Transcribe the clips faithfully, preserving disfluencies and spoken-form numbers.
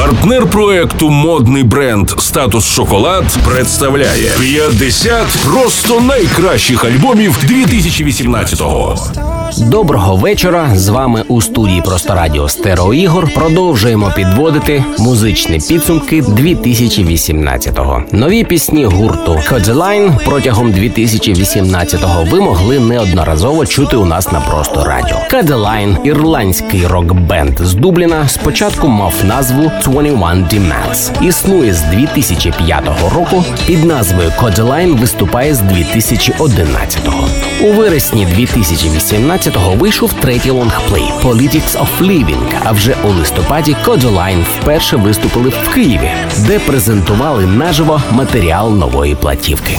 Партнер проекту модний бренд «Статус Шоколад» представляє п'ятдесят просто найкращих альбомів дві тисячі вісімнадцятого. Доброго вечора. З вами у студії «Просто Радіо» Стерео Ігор. Продовжуємо підводити музичні підсумки дві тисячі вісімнадцятого. Нові пісні гурту Kodaline протягом дві тисячі вісімнадцятого ви могли неодноразово чути у нас на «Просто Радіо». Kodaline, ірландський рок-бенд з Дубліна, спочатку мав назву двадцять один Demands. Існує з дві тисячі п'ятого року, під назвою Kodaline виступає з дві тисячі одинадцятого. У вересні дві тисячі вісімнадцятого вийшов третій лонгплей «Politics of Living», а вже у листопаді Kodaline вперше виступили в Києві, де презентували наживо матеріал нової платівки.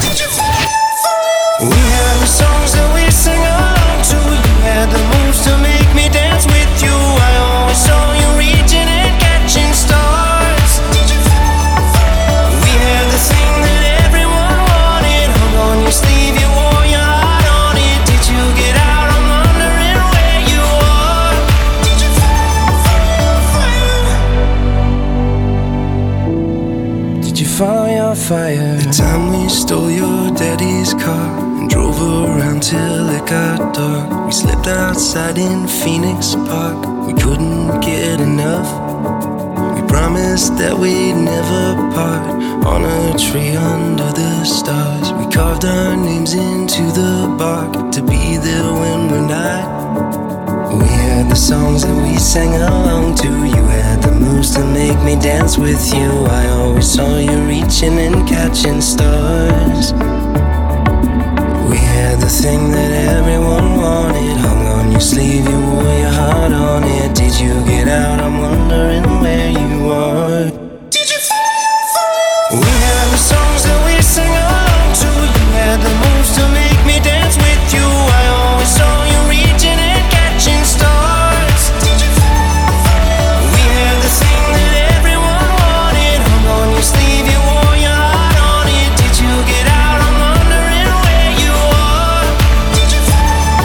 Fire. The time we stole your daddy's car and drove around till it got dark. We slept outside in Phoenix Park. We couldn't get enough. We promised that we'd never part. On a tree under the stars, we carved our names into the bark to be there when we're not. We had the songs that we sang along to. You had the moves to make me dance with you. I always saw you reaching and catching stars. We had the thing that everyone wanted, hung on your sleeve, you wore your heart on it. Did you get out? I'm wondering where you are. Did you fall? We had the songs that we sang along to. You had the moves to make me dance with you. I always saw you reaching and catching stars. Did you fall? We had the thing that everyone wanted, hung on your sleeve, you wore your heart on it. Did you get out? I'm wondering where you are. Did you fall?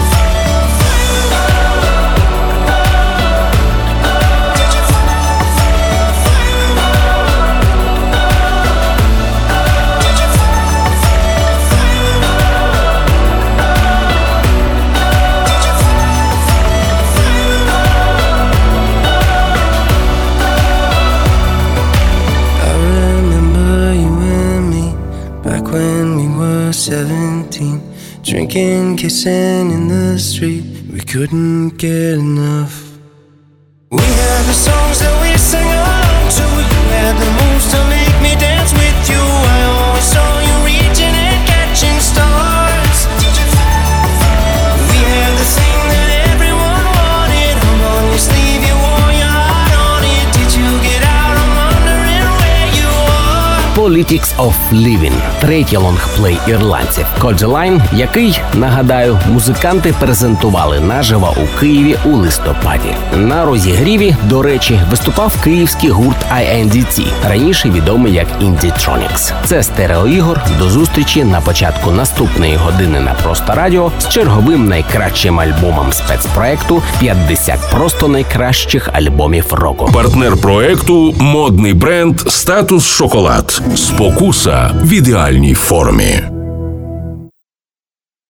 Did you seventeen, drinking, kissing in the street, we couldn't get enough. We had the songs that we sang along to. You had the moves to make me dance with you. I always saw you reaching and catching stars. Did you fall? We had the thing that everyone wanted, hung on your sleeve, you wore your heart on it. Did you get out? I'm wondering where you are. Politics of Living – третій лонгплей ірландців Kodaline, який, нагадаю, музиканти презентували наживо у Києві у листопаді. На розігріві, до речі, виступав київський гурт ай ен ді ті, раніше відомий як Indie-Tronics. Це Стерео Ігор. До зустрічі на початку наступної години на «Просто Радіо» з черговим найкращим альбомом спецпроекту «п'ятдесят просто найкращих альбомів року». Партнер проекту модний бренд «Статус Шоколад». Спокуса в ідеальній формі.